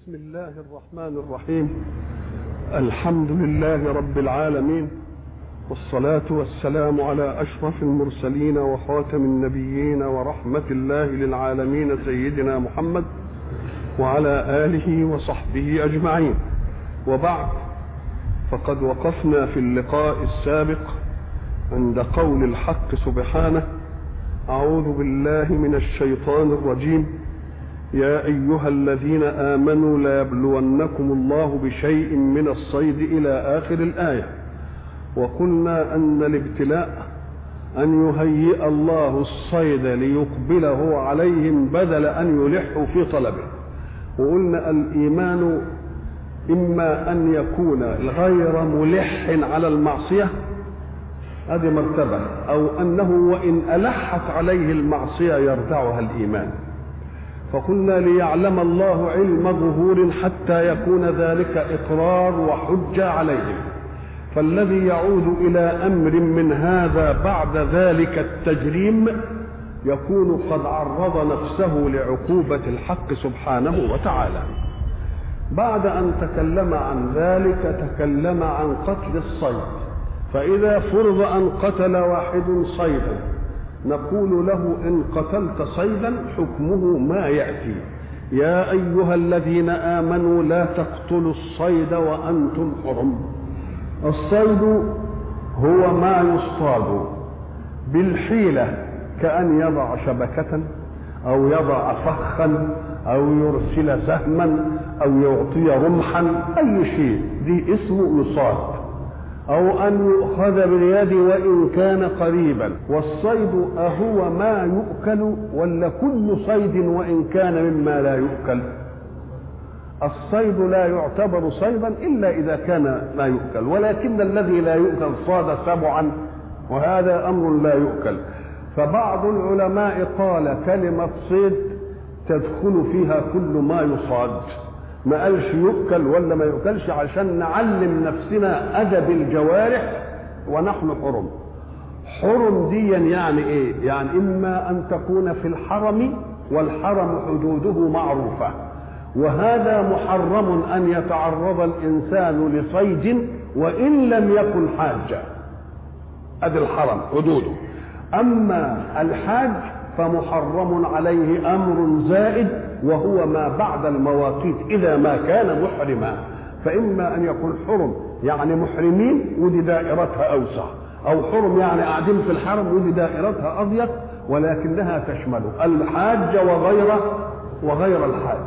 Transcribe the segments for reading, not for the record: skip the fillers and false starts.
بسم الله الرحمن الرحيم. الحمد لله رب العالمين، والصلاة والسلام على أشرف المرسلين وخاتم النبيين ورحمة الله للعالمين سيدنا محمد وعلى آله وصحبه أجمعين. وبعد، فقد وقفنا في اللقاء السابق عند قول الحق سبحانه: أعوذ بالله من الشيطان الرجيم، يا أيها الذين آمنوا ليبلونكم الله بشيء من الصيد إلى آخر الآية. وقلنا أن الابتلاء أن يهيئ الله الصيد ليقبله عليهم بدل أن يلحوا في طلبه. وقلنا الإيمان إما أن يكون غير ملح على المعصية، هذه مرتبة، أو أنه وإن ألحت عليه المعصية يردعها الإيمان. فقلنا ليعلم الله علم ظهور حتى يكون ذلك إقرار وحجة عليهم، فالذي يعود إلى أمر من هذا بعد ذلك التجريم يكون قد عرض نفسه لعقوبة الحق سبحانه وتعالى. بعد أن تكلم عن ذلك تكلم عن قتل الصيد. فإذا فرض أن قتل واحد صيدا نقول له: إن قتلت صيدا حكمه ما يأتي: يا أيها الذين آمنوا لا تقتلوا الصيد وأنتم حرم. الصيد هو ما يصطاد بالحيلة، كأن يضع شبكة أو يضع فخا أو يرسل سهما أو يعطي رمحا، أي شيء دي اسمه يصاد، أو أن يؤخذ باليد وإن كان قريبا. والصيد أهو ما يؤكل ولا كل صيد وإن كان مما لا يؤكل؟ الصيد لا يعتبر صيدا إلا إذا كان ما يؤكل، ولكن الذي لا يؤكل صاد سبعا، وهذا أمر لا يؤكل. فبعض العلماء قال كلمة صيد تدخل فيها كل ما يصاد، ما قالش يؤكل ولا ما يؤكلش، عشان نعلم نفسنا أدب الجوارح ونحن حرم. حرم دي يعني إيه؟ يعني إما أن تكون في الحرم، والحرم حدوده معروفة، وهذا محرم أن يتعرض الإنسان لصيد وإن لم يكن حاجة. أدي الحرم حدوده. أما الحاج فمحرم عليه أمر زائد، وهو ما بعد المواقيت إذا ما كان محرما. فإما أن يكون حرم يعني محرمين ودي دائرتها أوسع، أو حرم يعني قاعدين في الحرم ودي دائرتها أضيق، ولكنها تشمل الحاج وغير الحاج.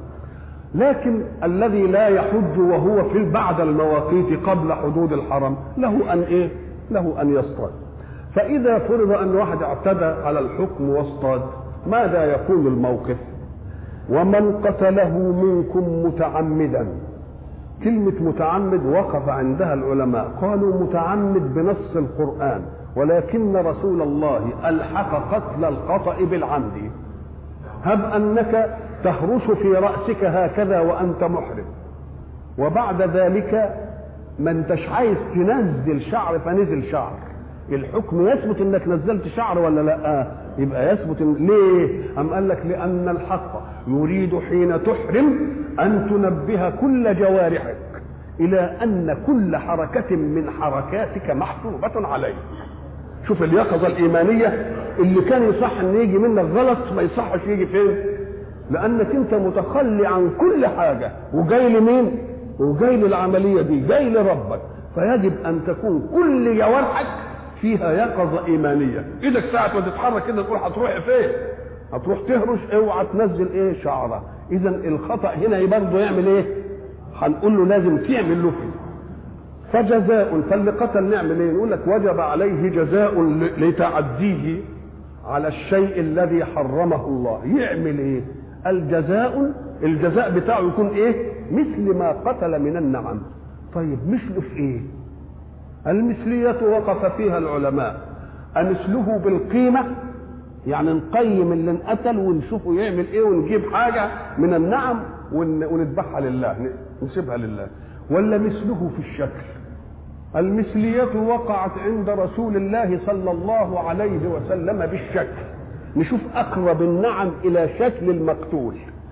لكن الذي لا يحج وهو في بعد المواقيت قبل حدود الحرم له أن إيه؟ له أن يصطاد. فإذا فرض أن واحد اعتدى على الحكم واصطاد، ماذا يكون الموقف؟ ومن قتله منكم متعمدا. كلمة متعمد وقف عندها العلماء، قالوا متعمد بنص القرآن، ولكن رسول الله ألحق قتل الخطأ بالعمد. هب أنك تهرش في رأسك هكذا وأنت محرم، وبعد ذلك ما انتش عايز تنزل شعر فنزل شعر، الحكم يثبت انك نزلت شعر ولا لا؟ يبقى يثبت. ليه؟ أم قال لك لأن الحق يريد حين تحرم أن تنبه كل جوارحك إلى أن كل حركة من حركاتك محسوبة عليه. شوف اليقظة الإيمانية اللي كان يصح أن يجي منك غلط ما يصحش يجي فين؟ لأنك أنت متخلي عن كل حاجة وجاي لمين؟ وجاي للعملية دي، جاي لربك. فيجب أن تكون كل جوارحك فيها يقظة إيمانية. إيدك ساعة ما تتحرك كده تقول هتروح فين؟ هتروح تهرش، اوعى تنزل ايه؟ شعرة. إذا الخطأ هنا برضه يعمل ايه؟ هنقول له لازم تعمل له فيه. فجزاء، فاللي قتل نعمل ايه؟ نقول لك وجب عليه جزاء لتعديه على الشيء الذي حرمه الله. يعمل ايه؟ الجزاء بتاعه يكون ايه؟ مثل ما قتل من النعم. طيب مثله في ايه؟ المثلية وقف فيها العلماء. أمثله بالقيمة، يعني نقيم اللي انقتل ونشوفه يعمل ايه ونجيب حاجة من النعم ونذبحها لله نسيبها لله، ولا مثله في الشكل؟ المثلية وقعت عند رسول الله صلى الله عليه وسلم بالشكل. نشوف أقرب النعم إلى شكل المقتول.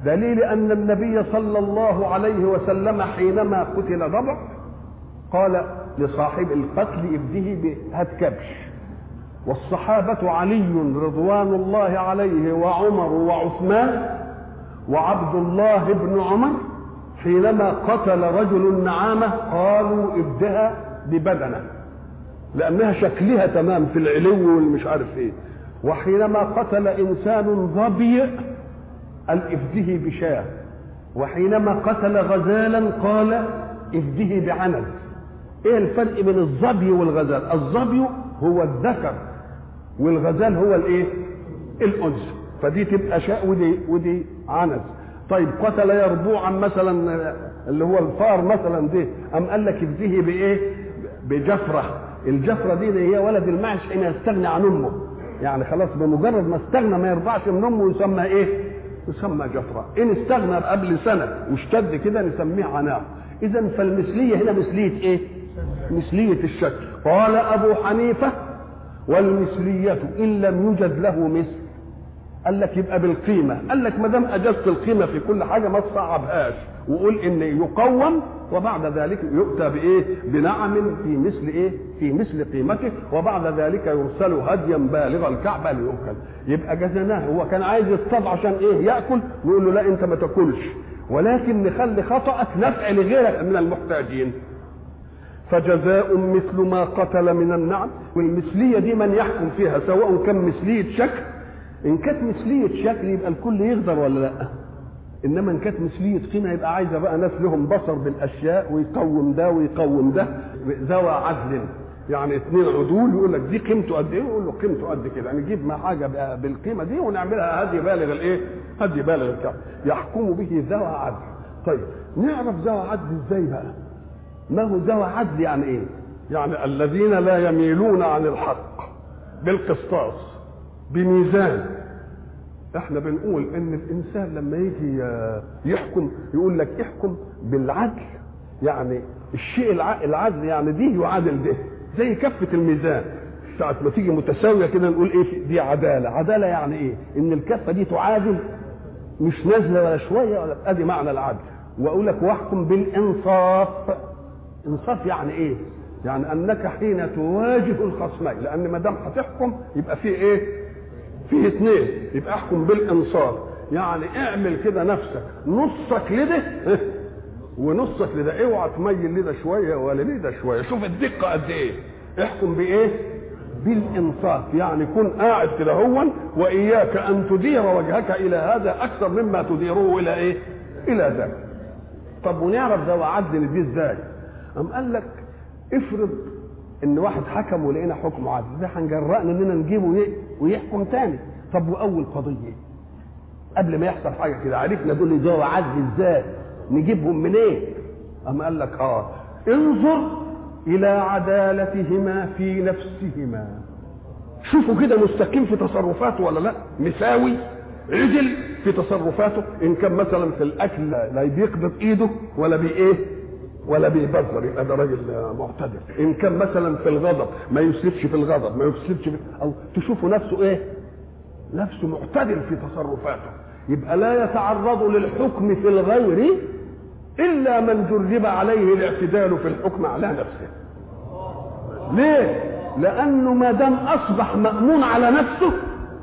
دليل أن النبي صلى الله عليه وسلم حينما قتل ضبع قال لصاحب القتل ابده هات كبش. والصحابة علي رضوان الله عليه وعمر وعثمان وعبد الله بن عمر حينما قتل رجل النعامة قالوا ابدها ببدنه لأنها شكلها تمام في العلو والمش عارف ايه. وحينما قتل إنسان ظبي قال افده بشاه. وحينما قتل غزالا قال افده بعنز. ايه الفرق بين الظبي والغزال؟ الظبي هو الذكر والغزال هو الايه؟ الانثى. فدي تبقى شاء ودي عنز. طيب قتل يربوعا مثلا اللي هو الفار مثلا دي ام قال لك افده بايه؟ بجفره. الجفره دي هي ولد المعش حين يستغني عن امه، يعني خلاص بمجرد ما استغنى ما يرضعش من امه يسمى ايه؟ يسمى جفره. ان استغنى قبل سنه واشتد كده نسميه عناق. اذا فالمثليه هنا مثليه ايه؟ مثليه الشكل. قال ابو حنيفه والمثليه ان لم يوجد له مثل. قال لك يبقى بالقيمه. قال لك ما دام اجزت القيمه في كل حاجه ما تصعبهاش وقول ان يقوم وبعد ذلك يؤتى بايه؟ بنعم في مثل ايه؟ في مثل قيمته وبعد ذلك يرسل هديا بالغ الكعبه ليؤكل. يبقى جزناه. هو كان عايز يصطاد عشان ايه؟ ياكل، نقول له لا انت ما تاكلش ولكن نخلي خطأك نفع لغيرك من المحتاجين. فجزاء مثل ما قتل من النعم. والمثليه دي من يحكم فيها سواء كان مثليه شكل. ان كانت مثليه شكل يبقى الكل يقدر ولا لا؟ انما ان كانت مثليه قيمه يبقى عايزه بقى ناس لهم بصر بالاشياء ويقوم ده ويقوم ده. ذوى عدل، يعني اثنين عدول يقول لك دي قيمته قد ايه، يقول له قيمته قد كده، نجيب ما حاجه بالقيمه دي ونعملها هدي بالغ الايه؟ هدي بالغ الكعب يحكم به ذوى عدل. طيب نعرف ذوى عدل ازاي بقى؟ ما هو ذوى عدل يعني ايه؟ يعني الذين لا يميلون عن الحق بالقسطاس بميزان. احنا بنقول ان الانسان لما يجي يحكم يقول لك احكم بالعدل، يعني الشيء العدل يعني دي يعادل ده، زي كفة الميزان ساعة ما تيجي متساوية كده نقول ايه دي عدالة. عدالة يعني ايه؟ ان الكفة دي تعادل مش نازلة ولا شوية ولا. ادي معنى العدل. واقول لك واحكم بالانصاف. انصاف يعني ايه؟ يعني انك حين تواجه الخصمين، لان ما دام هتحكم يبقى فيه ايه؟ فيه اثنين، يبقى احكم بالانصاف. يعني اعمل كده نفسك نصك لده ونصك لده، اوعى تميل لده شويه ولا لده شويه. شوف الدقه قد ايه. احكم بايه؟ بالانصاف. يعني كن قاعد كده هون واياك ان تدير وجهك الى هذا اكثر مما تديره الى ايه؟ الى ذاك. طب ونعرف ذوى عدل دي ازاي؟ قام قال لك افرض ان واحد حكم ولقينا حكم عادل، ده هنجرأنا اننا نجيبه ويحكم تاني. طب واول قضيه قبل ما يحصل حاجه كده عرفنا دول ذوى عدل ازاي؟ نجيبهم منين؟ إيه؟ اما قال لك انظر الى عدالتهما في نفسهما. شوفوا كده مستقيم في تصرفاته ولا لا؟ مساوي عدل في تصرفاته. ان كان مثلا في الاكل لا بيقبض ايده ولا بايه ولا بيبذر يبقى ده راجل معتدل. ان كان مثلا في الغضب ما يسرفش في الغضب، ما يسرفش او تشوفوا نفسه ايه؟ نفسه معتدل في تصرفاته. يبقى لا يتعرض للحكم في الغير الا من جرب عليه الاعتدال في الحكم على نفسه. ليه؟ لانه ما دام اصبح مأمون على نفسه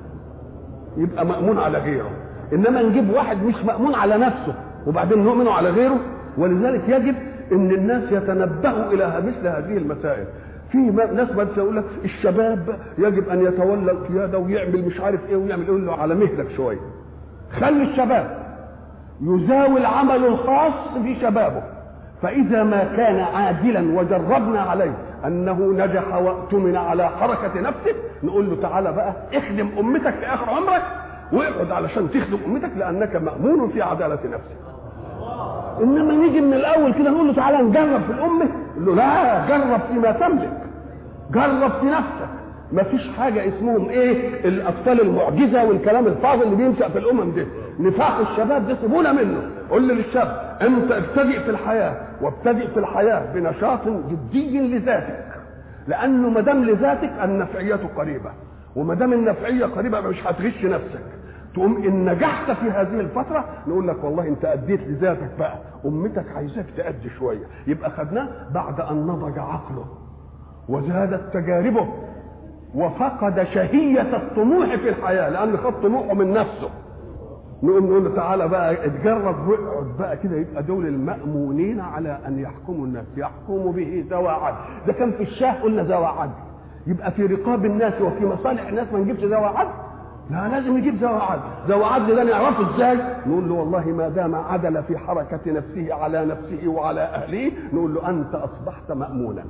يبقى مأمون على غيره. انما نجيب واحد مش مأمون على نفسه وبعدين نؤمنه على غيره. ولذلك يجب ان الناس يتنبهوا الى مثل هذه المسائل. في ناس بس يقول لك الشباب يجب ان يتولى القياده ويعمل مش عارف ايه ويعمل ايه. له على مهلك شويه، خلي الشباب يزاول عمله الخاص في شبابه. فاذا ما كان عادلا وجربنا عليه انه نجح واؤتمن على حركه نفسه نقول له تعالى بقى اخدم امتك في اخر عمرك واقعد علشان تخدم امتك لانك مأمون في عداله نفسك. انما نيجي من الاول كده نقول له تعالى نجرب في الامه، نقول له لا، جرب فيما تملك، جرب في نفسك. ما فيش حاجه اسمهم ايه الاطفال المعجزه والكلام الفاضل اللي بينشأ في الامم دي. نفاق الشباب ده سيبونا منه. قول للشاب انت ابتدئ في الحياه، وابتدئ في الحياه بنشاط جدي لذاتك، لانه ما دام لذاتك النفعيه قريبه، وما دام النفعيه قريبه مش هتغش نفسك. تقوم ان نجحت في هذه الفتره نقول لك والله انت اديت لذاتك بقى، امتك عايزاك تأدي شويه. يبقى خدناه بعد ان نضج عقله وزادت تجاربه وفقد شهيه الطموح في الحياه، لان خد طموحه من نفسه. نقوم نقول له تعالى بقى اتجرب واقعد بقى كده. يبقى دول المأمونين على ان يحكموا الناس، يحكموا به ذوى عدل. ده كان في الشاه قلنا ذوى عدل، يبقى في رقاب الناس وفي مصالح الناس ما نجيبش ذوى عدل؟ لا، لازم يجيب ذوى عدل. ذوى عدل ده نعرفه ازاي؟ نقول له والله ما دام عدل في حركه نفسه على نفسه وعلى اهله، نقول له انت اصبحت مأمونا.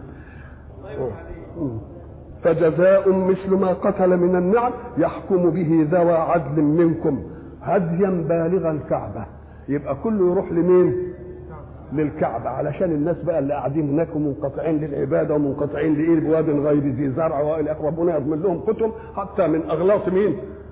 فجزاء مثل ما قتل من النعم يحكم به ذوى عدل منكم هديا بالغ الكعبه. يبقى كله يروح لمين؟ للكعبه، علشان الناس بقى اللي قاعدين هناك ومنقطعين للعباده ومنقطعين لايه بواد غير ذي زرع والى اخره، ربنا يضمن لهم كتب حتى من اغلاط مين؟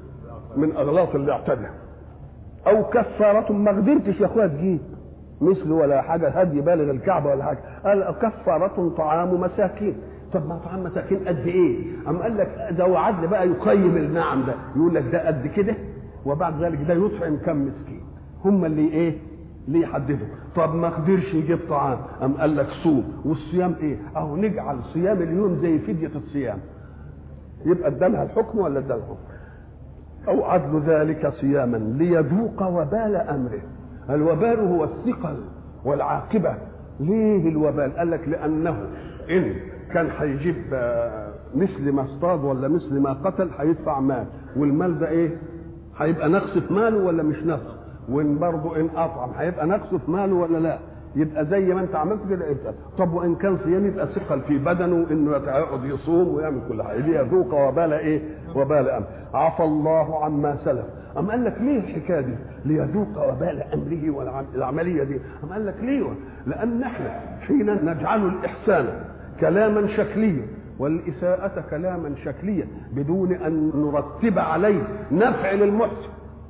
من اغلاط اللي اعتدى. او كفاره، ما قدرتش يا اخويا تجيب مثل ولا حاجه هدي بالغ الكعبه ولا حاجه، قال كفاره طعام مساكين. طب ما طعام مساكين قد ايه؟ اما قال لك ذو عدل بقى يقيم النعم ده، يقول لك ده قد كده، وبعد ذلك ده يطعم كم مسكين. هم اللي ايه؟ اللي يحددوا. طب ما قدرش يجيب طعام، ام قال لك صوم. والصيام ايه؟ اهو نجعل صيام اليوم زي فديه الصيام. يبقى ادالها الحكم ولا ادالها الحكم؟ او عدل ذلك صياما ليذوق وبال امره. الوبال هو الثقل والعاقبه. ليه الوبال؟ قال لك لانه ان كان هيجيب مثل ما اصطاد ولا مثل ما قتل هيدفع مال، والمال ده ايه؟ هيبقى نقص في ماله ولا مش نقص؟ وان برضه ان اطعم هيبقى نقص في ماله ولا لا؟ يبقى زي ما انت عملت كده يبقى. طب وان كان صيام يبقى ثقل في بدنه انه يقعد يصوم ويعمل كل حاجه، ليذوق وبال ايه؟ وبال امر. عفى الله عما سلف. أم قال لك ليه الحكايه دي؟ ليذوق وبال امره والعمليه دي. أم قال لك ليه؟ لان احنا حين نجعل الاحسان كلاما شكليا والاساءه كلاما شكليا بدون ان نرتب عليه نفع للمحسن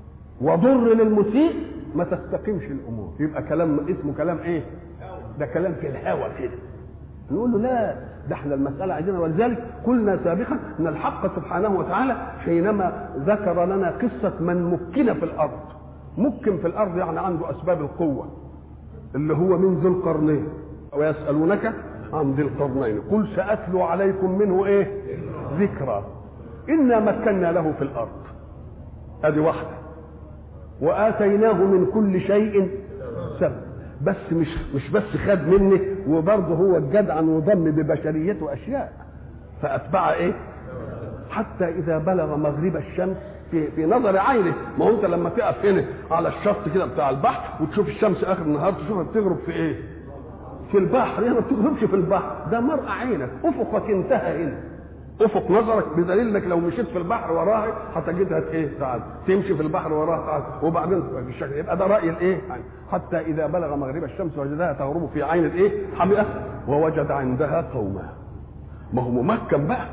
وضر للمسيء ما تستقيمش الامور. يبقى كلام اسمه كلام ايه؟ ده كلام في الهوى كده. نقول له لا، ده احنا المساله عندنا. ولذلك قلنا سابقا ان الحق سبحانه وتعالى حينما ذكر لنا قصه من مكن في الارض. مكن في الارض يعني عنده اسباب القوه، اللي هو من ذي القرنين. ويسالونك عن ذي القرنين قل ساتلو عليكم منه ايه؟ ذكرى. انا مكنا له في الارض، ادي واحده، واتيناه من كل شيء سبب. بس مش بس خد مني، وبرضه هو الجدع وضم ببشريته اشياء فاتبع ايه؟ حتى اذا بلغ مغرب الشمس في نظر عينه. ما هو انت لما تقف هنا على الشط كده بتاع البحر وتشوف الشمس اخر النهار تشوفها بتغرب في ايه؟ في البحر. هي ما بتغربش في البحر، ده مرء عينك، افقك انتهى هنا، افق نظرك، بدليل انك لو مشيت في البحر وراها هتجدها ايه؟ تعال تمشي في البحر وراها تعال، وبعدين بالشكل. يبقى ده راي الايه؟ حتى اذا بلغ مغرب الشمس وجدها تغرب في عين الايه؟ حمئه ووجد عندها قوما. ما هو ممكن بقى.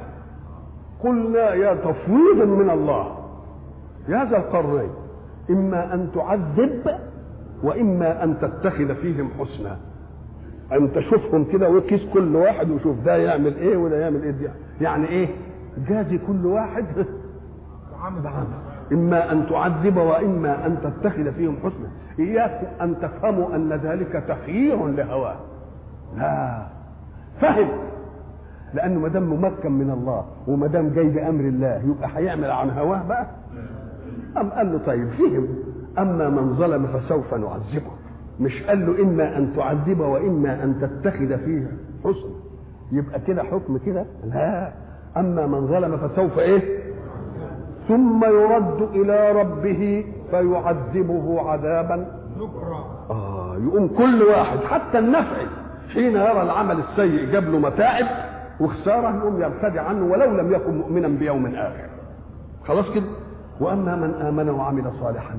قلنا يا تفويض من الله يا ذا القرنين اما ان تعذب واما ان تتخذ فيهم حسنا. ان تشوفهم كده وكيس كل واحد وشوف ده يعمل ايه وده يعمل ايه. دي يعني ايه؟ جازي كل واحد بعمل. اما ان تعذب واما ان تتخذ فيهم حسنا. اياكم ان تفهموا ان ذلك تخيير لهواه. لا، فهم، لانه ما دام ممكن من الله وما دام جاي بامر الله يبقى هيعمل عن هواه بقى. ام قال له طيب فهم. اما من ظلم فسوف نعذبه. مش قال له اما ان تعذب واما ان تتخذ فيه حسن. يبقى كده حكم كده؟ لا. اما من ظلم فسوف ايه؟ ثم يرد الى ربه فيعذبه عذابا نكرا. يقوم كل واحد حتى النفعي حين يرى العمل السيء جاب له متاعب وخساره يقوم يرتدع عنه ولو لم يكن مؤمنا بيوم اخر. خلاص كده. واما من امن وعمل صالحا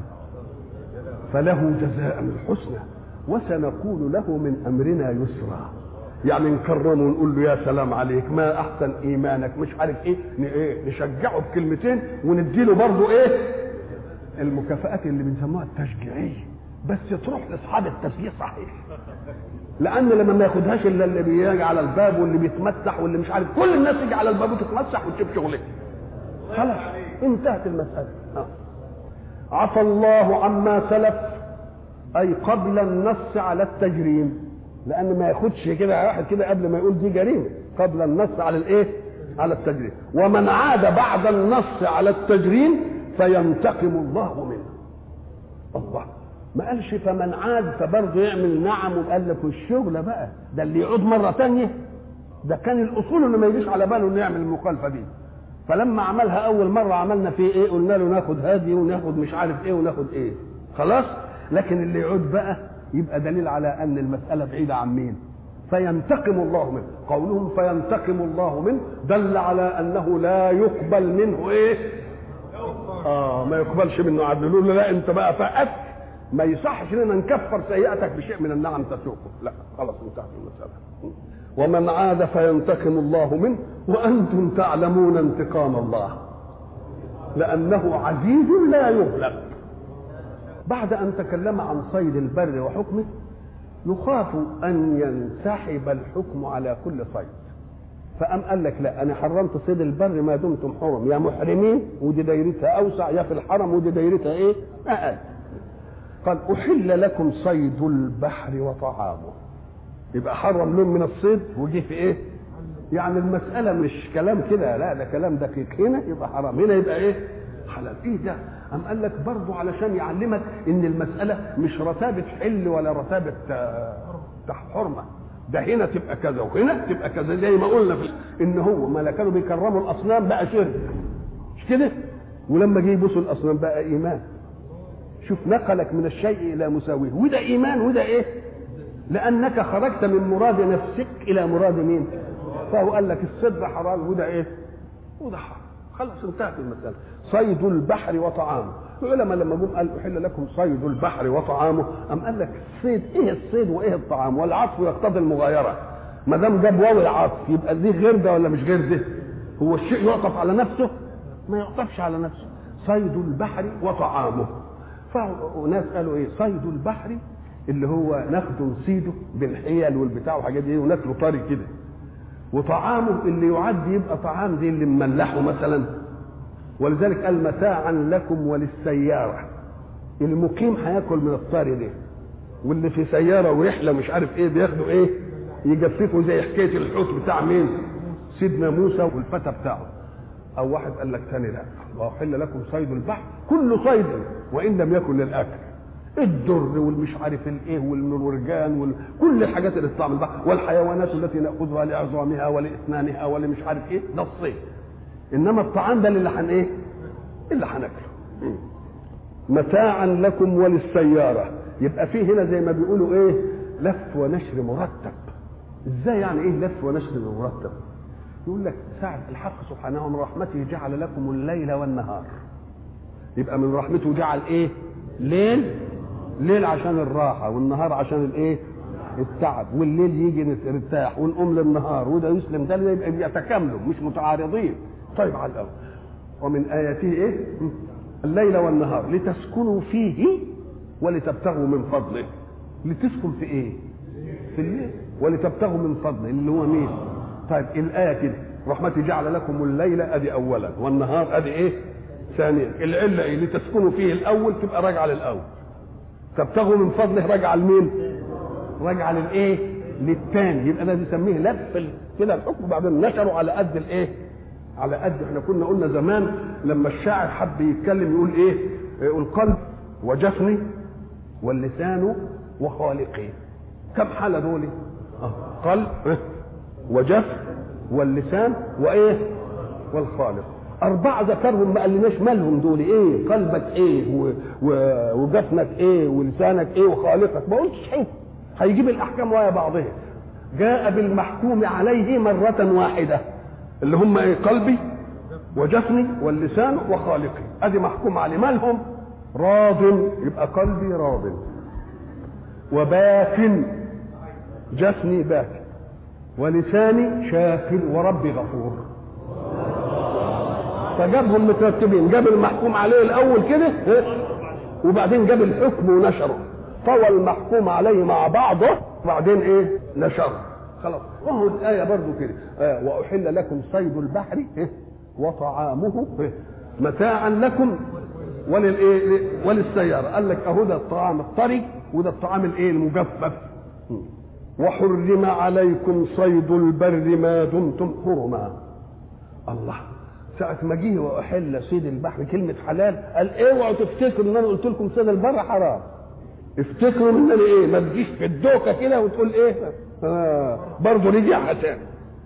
فله جزاء الحسنى وسنقول له من امرنا يسرا. يعني نكرمه ونقول له يا سلام عليك، ما احسن ايمانك، مش عارف ايه، نشجعه بكلمتين ونديله برضه ايه؟ المكافآت اللي بنسموها التشجيعيه، بس تروح لاصحاب التشجيع صحيح. لان لما ما ياخدهاش الا اللي بيجي على الباب واللي بيتمسح واللي مش عارف، كل الناس يجي على الباب وتتمسح وتشوف شغلك. خلاص انتهت المساله. عفى الله عما سلف، اي قبل النص على التجريم، لان ما ياخدش كده واحد كده قبل ما يقول دي جريمه، قبل النص على الايه؟ على التجريم. ومن عاد بعد النص على التجريم فينتقم الله منه. الله ما قالش فمن عاد فبرضه يعمل نعم، وقال لك الشغله بقى ده اللي يعود مره ثانيه، ده كان الاصول انه ما يجيش على باله انه يعمل المخالفه دي. فلما عملها اول مره عملنا فيه ايه؟ قلنا له ناخد هادي وناخد مش عارف ايه وناخد ايه، خلاص. لكن اللي يعود بقى يبقى دليل على ان المساله بعيده عن مين؟ فينتقم الله منه. قولهم فينتقم الله منه دل على انه لا يقبل منه ايه؟ ما يقبلش منه عدل. يقول له لا انت بقى فقدت، ما يصحش اننا نكفر سيئتك بشيء من النعم تسوقه، لا خلاص انتهت المساله. ومن عاد فينتقم الله منه وانتم تعلمون انتقام الله لانه عزيز لا يغلب. بعد ان تكلم عن صيد البر وحكمه يخاف ان ينسحب الحكم على كل صيد، فقام قال لك لا انا حرمت صيد البر ما دمتم حرم، يا محرمين ودي دايرتها اوسع، يا في الحرم ودي دايرتها ايه؟ اقل. قال احل لكم صيد البحر وطعامه، يبقى حرم لهم من الصيد وجي في ايه؟ يعني المساله مش كلام كده، لا ده كلام دقيق. هنا يبقى حرام، هنا يبقى ايه؟ حلال. ايه ده؟ قام قال لك برضه علشان يعلمك ان المساله مش رتابه حل ولا رتابه حرمه، ده هنا تبقى كذا وهنا تبقى كذا، زي ما قلنا في ان هو ما كانوا بيكرموا الاصنام بقى شرك، مش كده؟ ولما جه يبوسوا الاصنام بقى ايمان. شوف نقلك من الشيء الى مساويه، وده ايمان وده ايه؟ لانك خرجت من مراد نفسك الى مراد مين؟ فهو قال لك الصيد حرام وده ايه؟ وده حرام، خلاص انتهت المساله. صيد البحر وطعامه. العلماء لما جم قال احل لكم صيد البحر وطعامه، ام قال لك الصيد ايه الصيد وايه الطعام؟ والعطف يقتضي المغايره، ما دام جاب واو العطف يبقى دي غير ده ولا مش غير ده؟ هو الشيء يعطف على نفسه؟ ما يعطفش على نفسه. صيد البحر وطعامه. فناس قالوا ايه؟ صيد البحر اللي هو ناخده نصيده بالحيل والبتاع والحاجات دي وناكله طري كده، وطعامه اللي يعد يبقى طعام زي اللي مملحه مثلا. ولذلك قال متاعا لكم وللسياره، المقيم هياكل من الطري ده، واللي في سياره ورحله مش عارف ايه بياخدوا ايه؟ يجففوا زي حكايه الحوت بتاع مين؟ سيدنا موسى والفتى بتاعه. او واحد قال لك ثاني لا، واحل لكم صيد البحر كل صيد وان لم يكن للاكل، الدر والمش عارف الايه والمرجان كل الحاجات اللي تطلع من البحر، والحيوانات التي ناخذها لعظامها ولاسنانها ولمش عارف ايه، ده الصيد. انما الطعام ده اللي ايه؟ اللي هناكله. متاعا لكم وللسياره. يبقى فيه هنا زي ما بيقولوا ايه؟ لف ونشر مرتب. ازاي يعني ايه لف ونشر مرتب؟ يقول لك ساعة الحق سبحانه من رحمته جعل لكم الليل والنهار، يبقى من رحمته جعل ايه؟ ليل عشان الراحة، والنهار عشان الايه؟ التعب، والليل يجي نرتاح ونقوم للنهار، وده يسلم ده يبقى يتكاملوا مش متعارضين. طيب على الأول. ومن آياته ايه؟ الليل والنهار لتسكنوا فيه ولتبتغوا من فضله. لتسكن في ايه؟ في الليل. ولتبتغوا من فضله اللي هو مين؟ طيب الآية كده رحمتي جعل لكم الليل ادي اولا والنهار ادي ايه؟ ثانيا. العلة ايه؟ لتسكنوا فيه الاول تبقى راجعة للاول، تبتغوا من فضله راجعة لمين؟ راجعة للايه؟ للثاني. يبقى ده بيسميه لف كده الحكم، وبعدين نشروا على قد الايه؟ على قد. احنا كنا قلنا زمان لما الشاعر حب يتكلم يقول ايه؟ يقول قلب وجفني واللسان وخالقي. كم حالة دول؟ قلب وجفن واللسان وايه؟ والخالق. أربعة ذكرهم، ما قالناش مالهم دول ايه؟ قلبك ايه وجفنك ايه ولسانك ايه وخالقك، ما قلتش حكم. هيجيب الاحكام ويا بعضها. جاء بالمحكوم عليه مرة واحدة اللي هم ايه؟ قلبي وجفني واللسان وخالقي، ادي محكوم عليه. مالهم؟ راض، يبقى قلبي راض، وباكن جفني باكن، ولساني شاكر، وربي غفور. فجابهم مترتبين، جاب المحكوم عليه الاول كده وبعدين جاب الحكم ونشره، طوى المحكوم عليه مع بعضه وبعدين ايه؟ نشره. خلاص. وهو الآية برضو كده وأحل لكم صيد البحر وطعامه متاعا لكم وللسياره. قال لك اهو ده الطعام الطري وده الطعام المجفف. وحرم عليكم صيد البر ما دمتم حرما. الله، ساعة ما جه واحل صيد البحر كلمة حلال قال اوعوا تفتكروا ان انا قلت لكم صيد البر حرام. افتكروا ان انا ما تجيش في الدوكة كده وتقول برضه رجعها تاني.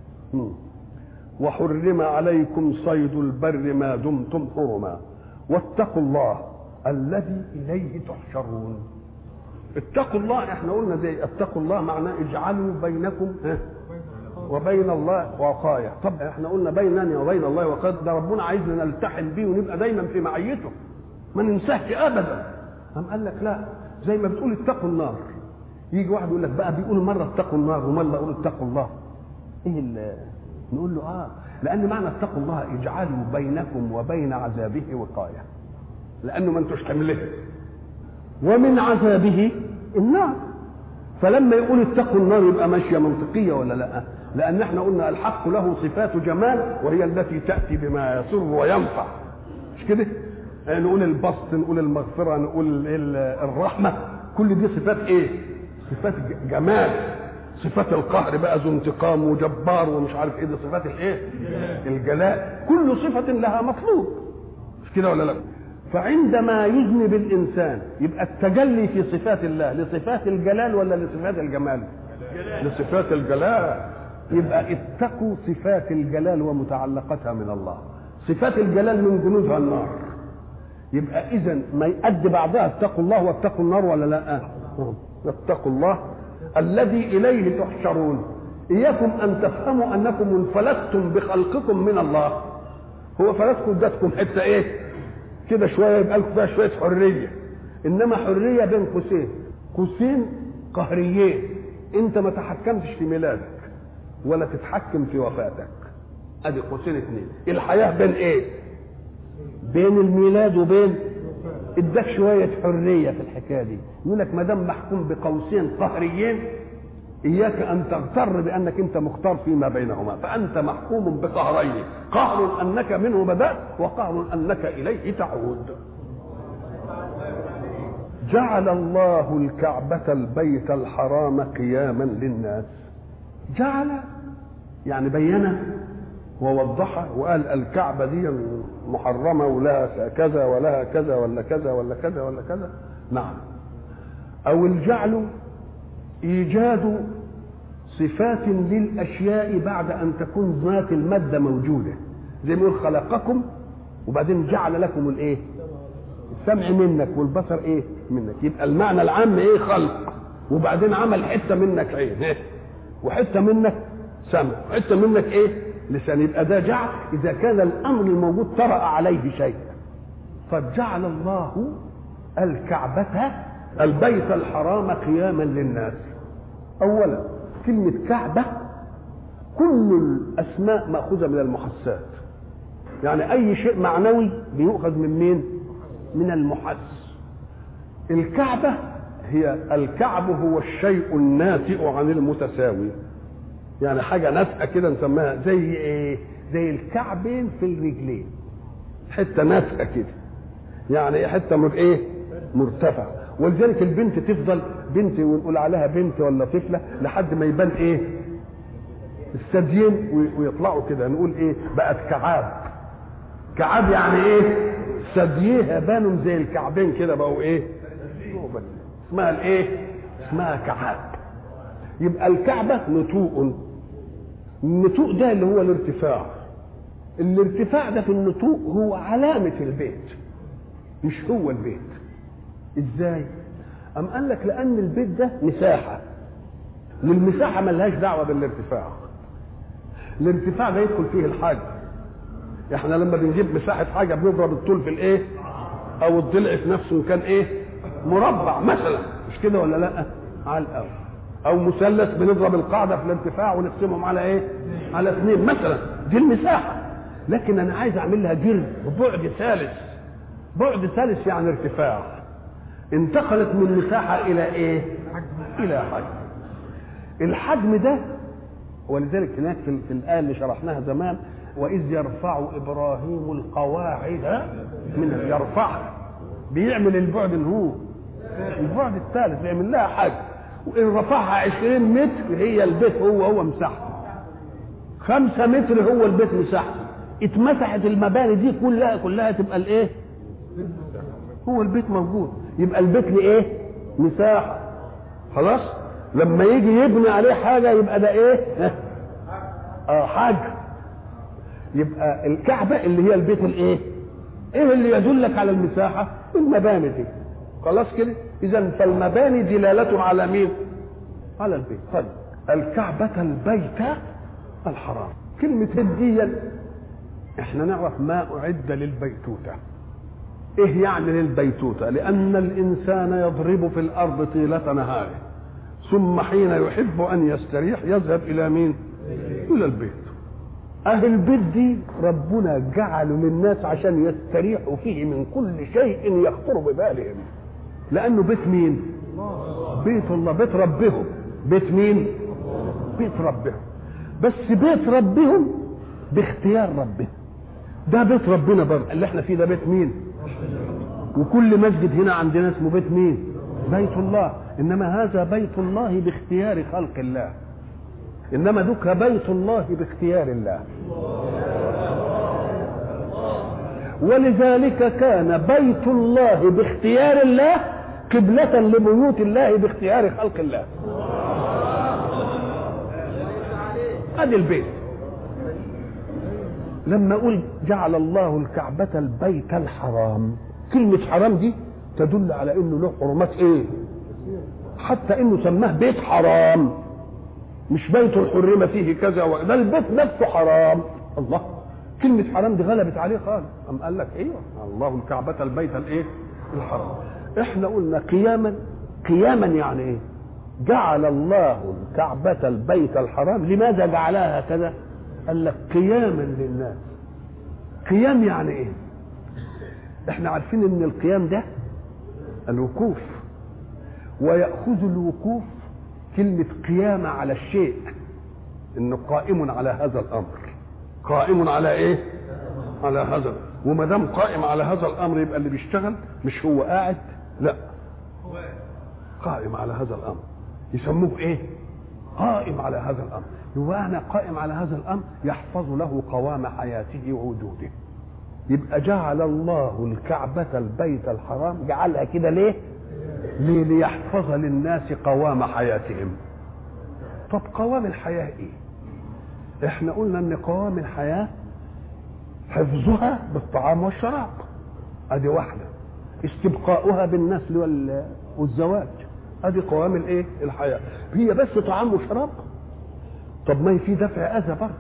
وحرم عليكم صيد البر ما دمتم حرما واتقوا الله الذي اليه تحشرون. اتقوا الله، احنا قلنا زي اتقوا الله معناه اجعلوا بينكم وبين الله وقايه. طب احنا قلنا بيننا وبين الله وقايه، ده ربنا عايزنا نلتحم بيه ونبقى دايما في معيته ما ننساهش ابدا. قال لك لا، زي ما بتقول اتقوا النار، يجي واحد يقول لك بقى بيقول مره اتقوا النار ومره يقول اتقوا الله، نقول له لان معنى اتقوا الله اجعلوا بينكم وبين عذابه وقايه، لانه ما انتوش حمله ومن عذابه النار. فلما يقول اتقوا النار يبقى ماشيه منطقيه ولا لا؟ لان احنا قلنا الحق له صفات جمال وهي التي تاتي بما يسر وينفع، مش كده؟ نقول البسط، نقول المغفره، نقول الرحمه، كل دي صفات صفات جمال. صفات القهر بقى ذو انتقام وجبار ومش عارف دي صفات الجلاء. كل صفه لها مطلوب، مش كده ولا لا؟ فعندما يذنب الانسان يبقى التجلي في صفات الله لصفات الجلال ولا لصفات الجمال؟ لصفات الجلال. يبقى اتقوا صفات الجلال ومتعلقتها من الله. صفات الجلال من جنودها النار، يبقى اذا ما يؤدي بعضها اتقوا الله واتقوا النار ولا لا؟ اتقوا الله الذي اليه تحشرون. اياكم ان تفهموا انكم انفلتم بخلقكم من الله. هو فلتكم ادتكم حته كده شويه يبقى لكم فيها شويه حريه، انما حريه بين قوسين قهريين. انت ما تحكمتش في ميلادك ولا تتحكم في وفاتك، ادي قوسين اثنين. الحياه بين بين الميلاد وبين اداك شويه حريه في الحكايه دي. يقول لك ما دام محكوم بقوسين قهريين اياك ان تغتر بانك انت مختار فيما بينهما، فانت محكوم بقهرين، قهر انك منه بدات وقهر انك اليه تعود. جعل الله الكعبة البيت الحرام قياما للناس. جعل يعني بينه ووضحه وقال الكعبة دي محرمة ولها كذا ولها كذا ولا كذا ولا كذا ولا كذا. نعم. او الجعل ايجاد صفات للاشياء بعد ان تكون ذات المادة موجودة، زي ما يقول خلقكم وبعدين جعل لكم السمع منك والبصر منك. يبقى المعنى العام خلق، وبعدين عمل حته منك عين وحته منك سمع وحته منك لسان. يبقى ده جعل اذا كان الامر الموجود طرأ عليه شيء. فجعل الله الكعبة البيت الحرام قياما للناس. اولا كلمة كعبة كل الاسماء مأخوذة من المحسات، يعني اي شيء معنوي بيؤخذ من مين؟ من المحس. الكعبة هي الكعب هو الشيء الناتئ عن المتساوي، يعني حاجة ناتئة كده نسميها زي زي الكعبين في الرجلين، حتة ناتئة كده، يعني حتة مرتفع. ولذلك البنت تفضل بنت ونقول عليها بنت ولا طفلة لحد ما يبان الثديين ويطلعوا كده، نقول بقت كعاب. كعاب يعني ثدييها بانوا زي الكعبين كده بقوا اسمها اسمها كعاب. يبقى الكعبة نتوء. النتوء ده اللي هو الارتفاع. الارتفاع ده في النتوء هو علامة البيت، مش هو البيت. ازاي؟ قال لك لان البيت ده مساحة، والمساحة ملهاش دعوة بالارتفاع. الارتفاع ده يدخل فيه الحجم. احنا لما بنجيب مساحة حاجة بنضرب الطول في او الضلع في نفسه كان مربع مثلا، مش كده ولا لا؟ على الاول. او مثلث بنضرب القاعدة في الارتفاع ونقسمهم على على 2 مثلا، دي المساحة. لكن انا عايز اعمل لها جرد وبعد ثالث. بعد ثالث يعني ارتفاع، انتقلت من مساحة الى الى حجم. الحجم ده ولذلك هناك في الآية اللي شرحناها زمان، وإذ يرفع إبراهيم القواعد من يرفع بيعمل البعد هو البعد الثالث، بيعمل لها حاجه، وان رفعها 20 متر هي البيت هو مساحته 5 متر، هو البيت مساحته. اتمسحت المباني دي كلها تبقى الايه؟ هو البيت موجود، يبقى البيت لايه؟ مساحه. خلاص لما يجي يبني عليه حاجه يبقى ده ايه؟ حاجه. يبقى الكعبه اللي هي البيت الايه؟ ايه اللي يدلك على المساحه؟ المباني دي. خلاص كده. اذا فالمباني دلاله على مين؟ على البيت. طيب الكعبه البيت الحرام، كلمه هديا احنا نعرف ما اعد للبيتوته. ايه يعني للبيتوته؟ لان الانسان يضرب في الارض طيله نهاره، ثم حين يحب ان يستريح يذهب الى مين؟ الى البيت. اهل البيت دي ربنا جعله للناس عشان يستريحوا فيه من كل شيء يخطر ببالهم، لانه بيت مين؟ بيت الله، بيت ربهم. بيت مين؟ بيت ربهم. بس بيت ربهم باختيار ربهم. ده بيت ربنا برضه اللي احنا فيه، ده بيت مين؟ وكل مسجد هنا عندنا اسمه بيت مين؟ بيت الله. انما هذا بيت الله باختيار خلق الله، انما ذكر بيت الله باختيار الله. ولذلك كان بيت الله باختيار الله قبلة لبيوت الله باختيار خلق الله. ادي البيت. لما اقول جعل الله الكعبة البيت الحرام، كلمة حرام دي تدل على انه له حرمات ايه؟ حتى انه سماه بيت حرام، مش بيت حرم فيه كذا ده البيت نفسه حرام. الله، كلمة حرام دي غلبت عليه خالص. قام قال لك ايوه الله الكعبة البيت الايه؟ الحرام. احنا قلنا قياما يعني ايه؟ جعل الله الكعبة البيت الحرام. لماذا جعلها هكذا؟ قال لك قياما للناس. قيام يعني ايه؟ احنا عارفين ان القيام ده الوقوف، ويأخذ الوقوف كلمة قيامة على الشيء، انه قائم على هذا الامر. قائم على ايه؟ على هذا. وما دام قائم على هذا الامر يبقى اللي بيشتغل مش هو قاعد، لا قائم على هذا الامر. يسموه ايه؟ قائم على هذا الامر. يبقى انا قائم على هذا الامر يحفظ له قوام حياته ووجوده. يبقى جعل الله الكعبة البيت الحرام، جعلها كده ليه؟ ليحفظ للناس قوام حياتهم. طب قوام الحياة ايه؟ احنا قلنا ان قوام الحياة حفظها بالطعام والشراب، ادي واحدة. استبقاؤها بالنسل والزواج، ادي قوام الايه؟ الحياة. هي بس طعام وشراب؟ طب ما في دفع اذى برضه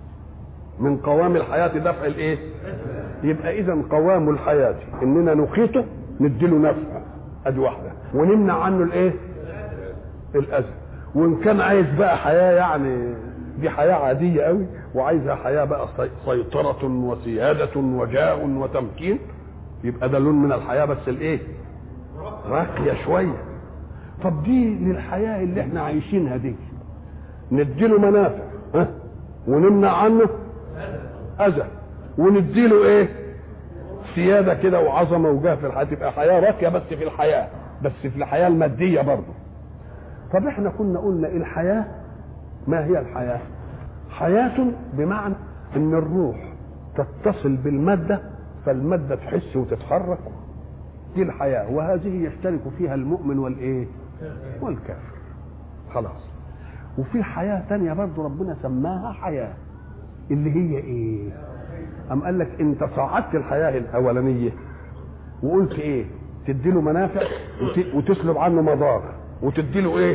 من قوام الحياة، دفع الايه؟ يبقى اذا قوام الحياة اننا نقيته نديله نفع، ادي واحدة، ونمنع عنه الايه؟ الاذى. وان كان عايز بقى حياة يعني دي حياة عادية قوي، وعايزها حياة بقى سيطرة وسيادة وجاه وتمكين، يبقى ده لون من الحياة بس الايه؟ راقية شوية. طب دي للحياة اللي احنا عايشينها دي نديله منافع ونمنع عنه اذى، ونديله ايه؟ سيادة كده وعظمة وجاه في الحياة، تبقى حياة راقية بس في الحياة، بس في الحياة المادية برضه. طب احنا كنا قلنا الحياة ما هي الحياة؟ حياة بمعنى ان الروح تتصل بالمادة فالمادة تحس وتتحرك، دي الحياة. وهذه يشترك فيها المؤمن والايه؟ والكافر. خلاص. وفي حياة تانية برضه ربنا سماها حياة، اللي هي ايه؟ أم قال لك انت صعدت الحياة الاولانية وقلت ايه؟ تديله منافع وتسلب عنه مضار، وتديله ايه؟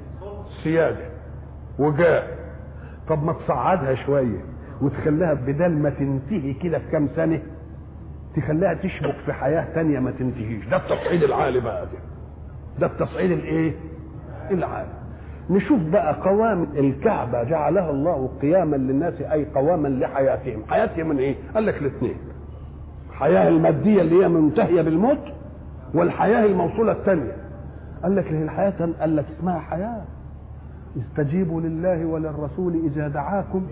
سيادة وجاه. طب ما تصعدها شوية وتخليها بدل ما تنتهي كده في كام سنة تخليها تشبك في حياة تانية ما تنتهيش. ده التصعيد العالي بقى، ده التصعيد الايه؟ العالي. نشوف بقى قوام الكعبة جعلها الله قياما للناس، اي قواما لحياتهم. حياتهم من ايه؟ قال لك الاثنين، الحياة المادية اللي هي منتهية بالموت، والحياة الموصولة الثانية. قال لك الحياة قال لك اسمها حياة. استجيبوا لله وللرسول إذا دعاكم.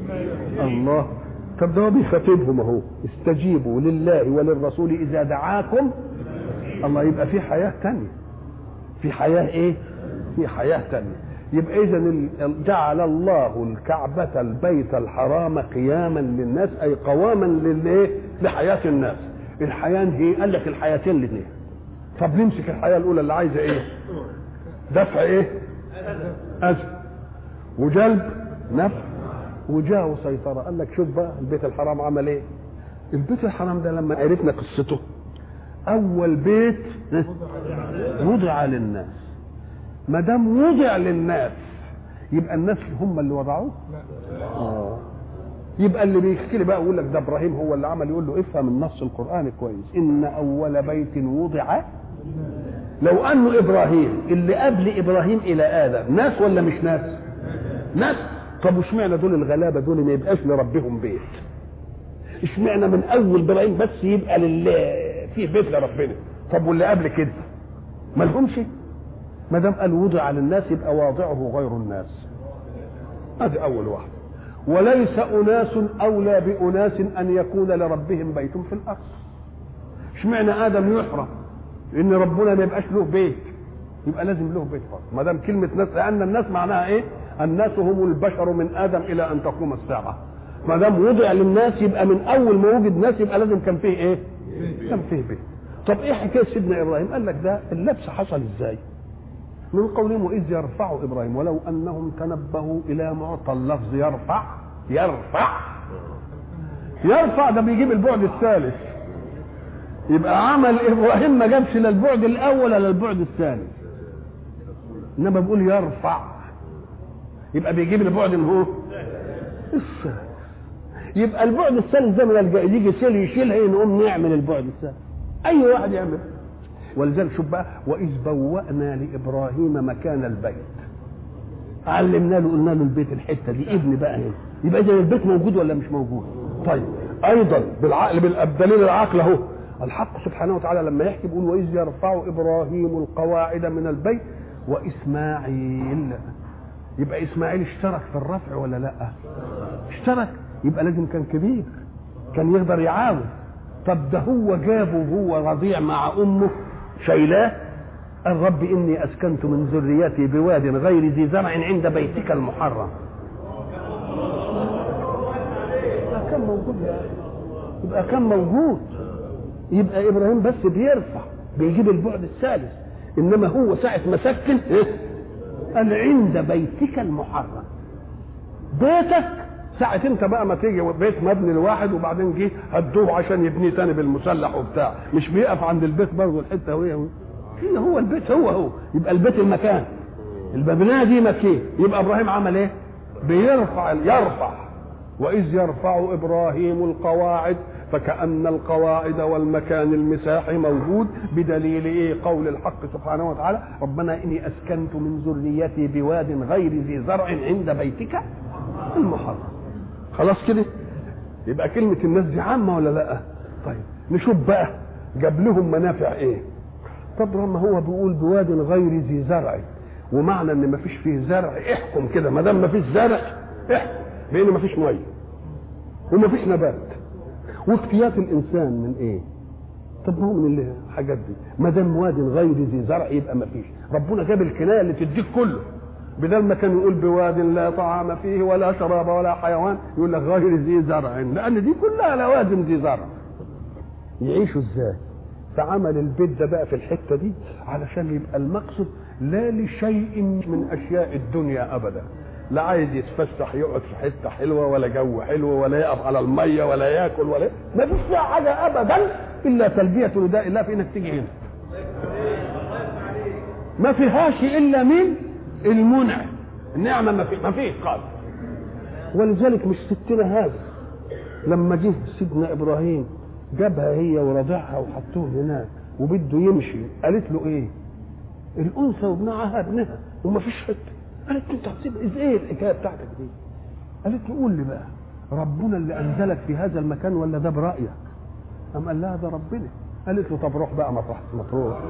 الله، طب ده بيخاطبهم اهو، استجيبوا لله وللرسول إذا دعاكم الله، يبقى في حياه ثانيه، في حياه ايه؟ في حياه ثانيه. يبقى اذا جعل الله الكعبه البيت الحرام قياما للناس، اي قواما للايه؟ لحياه الناس. الحياه هي قال لك الحياتين الاثنين. طب نمسك الحياه الاولى اللي عايزه ايه؟ دفع ايه؟ اذى، وجلب نفع، وجاه وسيطره. قال لك شوف بقى البيت الحرام عمل ايه؟ البيت الحرام ده لما عرفنا قصته، اول بيت وضع للناس. ما دام وضع للناس يبقى الناس هم اللي وضعوه؟ يبقى اللي بيحكي لي بقى يقول لك ده ابراهيم هو اللي عمل، يقول له افهم النص القرآني كويس، ان اول بيت وضع. لو انه ابراهيم اللي قبل ابراهيم الى ادم ناس ولا مش ناس؟ ناس. طب واشمعنى دول الغلابه دول ما يبقاش لربهم بيت؟ اشمعنى من اول ابراهيم بس يبقى في بيت لربنا؟ طب واللي قبل كده ما لهمش؟ ما دام قال وضع للناس يبقى واضعه غير الناس. هذه اول واحده. وليس اناس اولى باناس ان يكون لربهم بيت في الارض. اشمعنى ادم يحرم ان ربنا ما يبقاش له بيت؟ يبقى لازم له بيت فرض. ما دام كلمه ناس، لان الناس معناها ايه؟ الناس هم البشر من ادم الى ان تقوم الساعه. ما دام وضع للناس يبقى من اول ما وجد ناس يبقى لازم كان فيه ايه؟ كان فيه بيت. طب ايه حكايه سيدنا ابراهيم؟ قال لك ده اللبس حصل ازاي؟ من قولهم واذ يرفع ابراهيم، ولو انهم تنبهوا الى معطى اللفظ يرفع. يرفع ده بيجيب البعد الثالث. يبقى عمل ابراهيم ما جابش لا البعد الاول ولا البعد الثاني، انما بيقول يرفع، يبقى بيجيب البعد اللي هو الثالث. يبقى البعد الثالث ده من يجي يشيلها نقوم نعمل البعد الثالث، اي واحد يعمل. ولذلك شوف بقى، واذ بوأنا لابراهيم مكان البيت، علمنا له قلنا له البيت الحته دي ابن بقى هنا. يبقى اذا البيت موجود ولا مش موجود؟ طيب ايضا بالعقل بالدليل العقل اهو، الحق سبحانه وتعالى لما يحكي بيقول واذ يرفع ابراهيم القواعد من البيت واسماعيل. يبقى اسماعيل اشترك في الرفع ولا لا؟ اشترك، يبقى لازم كان كبير، كان يقدر يعاون. طب ده هو جابه وهو رضيع مع امه شايلاه، قال رب اني اسكنت من ذريتي بواد غير ذي زرع عند بيتك المحرم. كان موجود يبقى كان موجود. يبقى ابراهيم بس بيرفع بيجيب البعد الثالث، انما هو ساعه ما سكن قال عند بيتك المحرم. بيتك ساعة انت بقى ما تيجي بيت مبني لواحد وبعدين جه هدوه عشان يبنيه تاني بالمسلح وبتاع، مش بيقف عند البيت برضه الحته هو البيت هو يبقى البيت المكان، المبنيه دي مكان. يبقى ابراهيم عمل ايه؟ يرفع. واذ يرفع ابراهيم القواعد، فكأن القواعد والمكان المساحي موجود، بدليل ايه؟ قول الحق سبحانه وتعالى ربنا اني اسكنت من ذريتي بواد غير ذي زرع عند بيتك المحرم. خلاص كده؟ يبقى كلمة الناس دي عامة ولا لا؟ طيب نشوف بقى جاب لهم منافع ايه؟ طب لما هو بيقول بواد غير ذي زرع، ومعنى ان ما فيش فيه زرع احكم كده، ما دام ما فيش زرع احكم بان ما فيش ميه وما فيش نبات. وافتيات الانسان من ايه؟ طب هو من الحاجات دي، ما دام واد غير ذي زرع يبقى ما فيش. ربنا جاب الكنايه اللي تديك كله، بدل ما كان يقول بواد لا طعام فيه ولا شراب ولا حيوان يقول لك غير ذي زرع، لان دي كلها لوازم ذي زرع. يعيشوا ازاي؟ فعمل البيت ده بقى في الحته دي علشان يبقى المقصد لا لشيء من اشياء الدنيا ابدا، لا عايز يتفسح يقعد في حته حلوه ولا جو حلو ولا يقف على الميه ولا ياكل ولا ما فيش فيها حاجه ابدا الا تلبيه نداء الله في انك تيجي هنا. ما فيهاش الا من المنعم، النعمه ما فيه قال. ولذلك مش ستنا هذا لما جه سيدنا ابراهيم جابها هي ورضعها وحطوه هناك وبده يمشي، قالت له ايه؟ الانثى وابنها ابنها وما فيش حته. قالت له انت هتسيب ايه الحكايه بتاعتك دي؟ قالت له قول لي بقى ربنا اللي انزلك في هذا المكان ولا ده برايك؟ قام قال لها ده ربنا. قالت له طب روح بقى مطروح.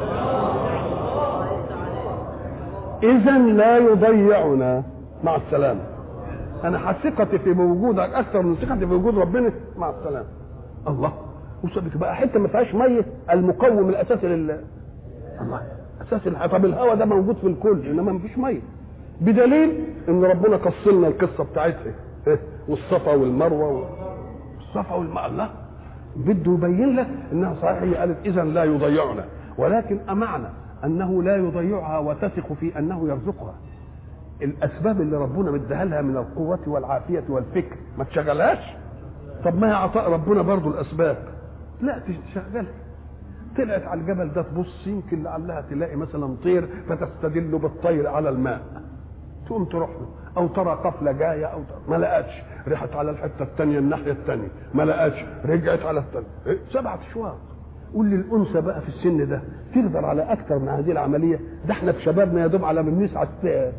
اذا لا يضيعنا، مع السلامه. انا ثقتي في وجودك اكثر من ثقتي في وجود ربنا، مع السلامه. الله، بقى حته ما فيهاش ميه، المقوم الاساسي الله اساس طب الهواء ده موجود في الكل انما ما فيش ميه، بدليل ان ربنا قص لنا القصه بتاعتها والصفا والمروه والصفا والمروه. الله بده يبين لك انها صحيح. هي قالت اذا لا يضيعنا، ولكن امعنى انه لا يضيعها وتثق في انه يرزقها. الاسباب اللي ربنا مديها لها من القوه والعافيه والفكر ما تشغلهاش. طب ما هي عطاء ربنا برضو الاسباب، لا تشغلها. طلعت على الجبل ده تبص يمكن لعلها تلاقي مثلا طير فتستدل بالطير على الماء، تقوم تروح له، او ترى قفله جايه او ما لقتش، رحت على الحته الثانيه الناحيه الثانيه ما لقتش، رجعت على الثانيه 7 اشواط. قول لي الانثى بقى في السن ده تقدر على اكثر من هذه العمليه؟ ده احنا في شبابنا يا دوب على ما بنسعى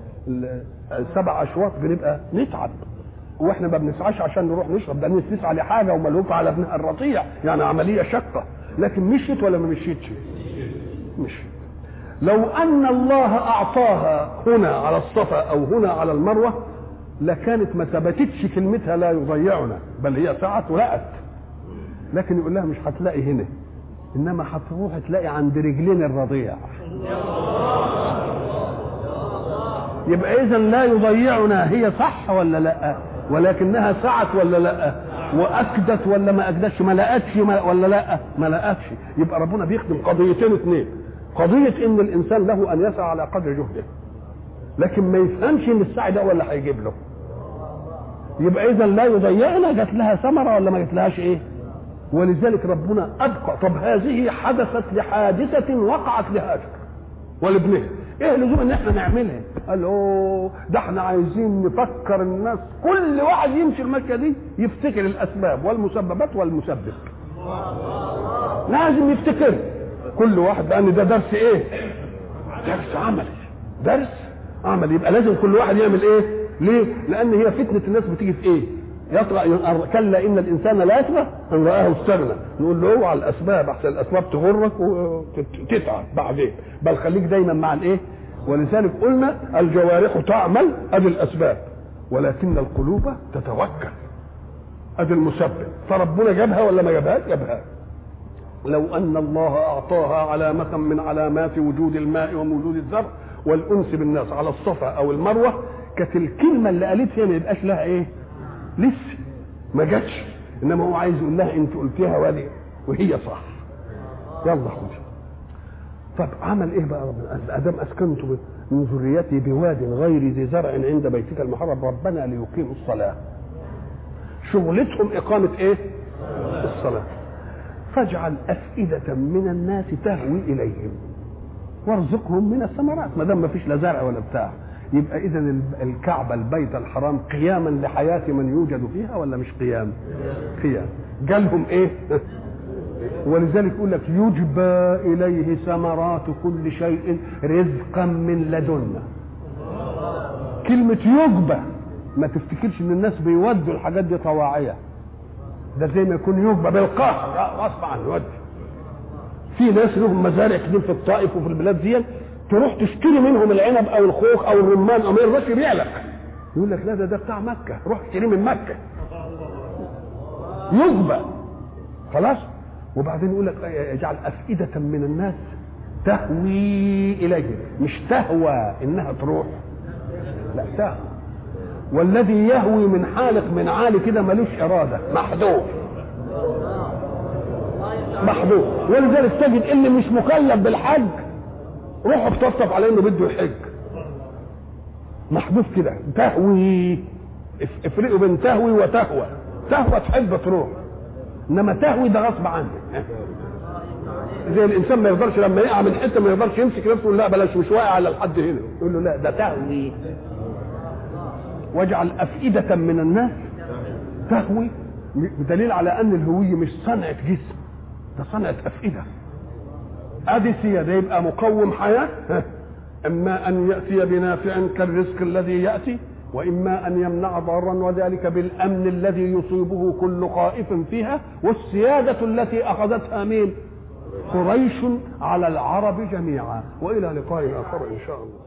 7 اشواط بنبقى نتعب، واحنا ما بنسعاش عشان نروح نشرب، ده نسعى لحاجه وملهوف على ابنها الرضيع، يعني عمليه شقه. لكن مشيت ولا ما مشيتش؟ مشيت. لو ان الله اعطاها هنا على الصفا او هنا على المروه لكانت ما ثبتتش كلمتها لا يضيعنا، بل هي سعت ولقت. لكن يقول لها مش هتلاقي هنا، انما هتروح تلاقي عند رجلين الرضيع. يبقى اذا لا يضيعنا، هي صح ولا لا؟ ولكنها سعت ولا لا؟ واكدت ولا ما اكدتش؟ ما لقتش ولا لا؟ ما لقتش. يبقى ربنا بيخدم قضيتين اثنين، قضيه ان الانسان له ان يسعى على قدر جهده، لكن ما يفهمش ان السعي ده ولا هيجيب له. يبقى اذا لا يضيعنا جات لها ثمره ولا ما جاتلهاش ايه؟ ولذلك ربنا ابقى. طب هذه حدثت لحادثه وقعت لهاجر ولابنها، ايه لزوم ان احنا نعملها؟ قال ده احنا عايزين نفكر الناس، كل واحد يمشي المشيه دي يفتكر الاسباب والمسببات والمسبب، لازم يفتكر كل واحد، لان ده درس ايه؟ درس عملي، درس عملي. يبقى لازم كل واحد يعمل ايه؟ ليه؟ لان هي فتنه الناس بتيجي في ايه؟ يطغى كلا ان الانسان لا يطغى ان رآه استغنى. نقول له اوعى الاسباب، احسن الاسباب تغرك وتتعب بعدين، بل خليك دايما مع الايه؟ ولذلك قلنا الجوارح تعمل ادي الاسباب، ولكن القلوب تتوكل ادي المسبب. فربنا جابها ولا ما جابهاش؟ جابها. لو ان الله اعطاها علامه من علامات وجود الماء ووجود الزرع والانس بالناس على الصفا او المروه، كانت الكلمه اللي قالتها ما يبقاش لها ايه؟ لسه ما جاتش، انما هو عايز يقول لها انت قلتيها وهي صح، يلا خدي. طب عمل ايه بقى ربنا؟ ادام اسكنت من ذريتي بواد غير ذي زرع عند بيتك المحرم ربنا ليقيموا الصلاه. شغلتهم اقامه ايه؟ الصلاه. فاجعل افئده من الناس تهوي اليهم وارزقهم من الثمرات. ما دام ما فيش لا زرع ولا بتاع، يبقى اذا الكعبه البيت الحرام قياما لحياه من يوجد فيها ولا مش قيام؟ قيام. جالهم ايه؟ ولذلك يقول لك يجبى اليه ثمرات كل شيء رزقا من لدنا. كلمه يجبى، ما تفتكرش ان الناس بيودوا الحاجات دي طواعيه، ده زي ما يكون يجبى بالقهر غصب عنه يودي. في ناس لهم مزارع كتير في الطائف وفي البلاد دي، تروح تشتري منهم العنب او الخوخ او الرمان او ما يرضاش يبيع لك، يقول لك لا ده بتاع مكه، روح اشتريه من مكه. يجبى خلاص. وبعدين يقول لك اجعل افئده من الناس تهوي اليه، مش تهوى انها تروح، لا تهوى. والذي يهوي من حالق من عالي كده ملوش اراده، محذوف محذوف. ولذلك تجد اللي مش مكلف بالحج روحوا بتصف عليه انه بده يحج، محذوف كده. تهوي، افرقوا بين تهوي وتهوى. تهوى تحب تروح، انما تهوي ده غصب عنك. زي الانسان ما يقدرش لما يقع من حته ما يقدرش يمسك نفسه يقول لا بلاش مش واقع على الحد هنا، يقول له لا ده تهوي. واجعل افئده من الناس تهوي، بدليل على ان الهويه مش صنعه جسم، ده صنعه افئده. ادي سياده يبقى مقوم حياه، اما ان ياتي بنافع كالرزق الذي ياتي، واما ان يمنع ضارا، وذلك بالامن الذي يصيبه كل خائف فيها، والسياده التي اخذتها مين؟ قريش على العرب جميعا. والى لقاء اخر ان شاء الله.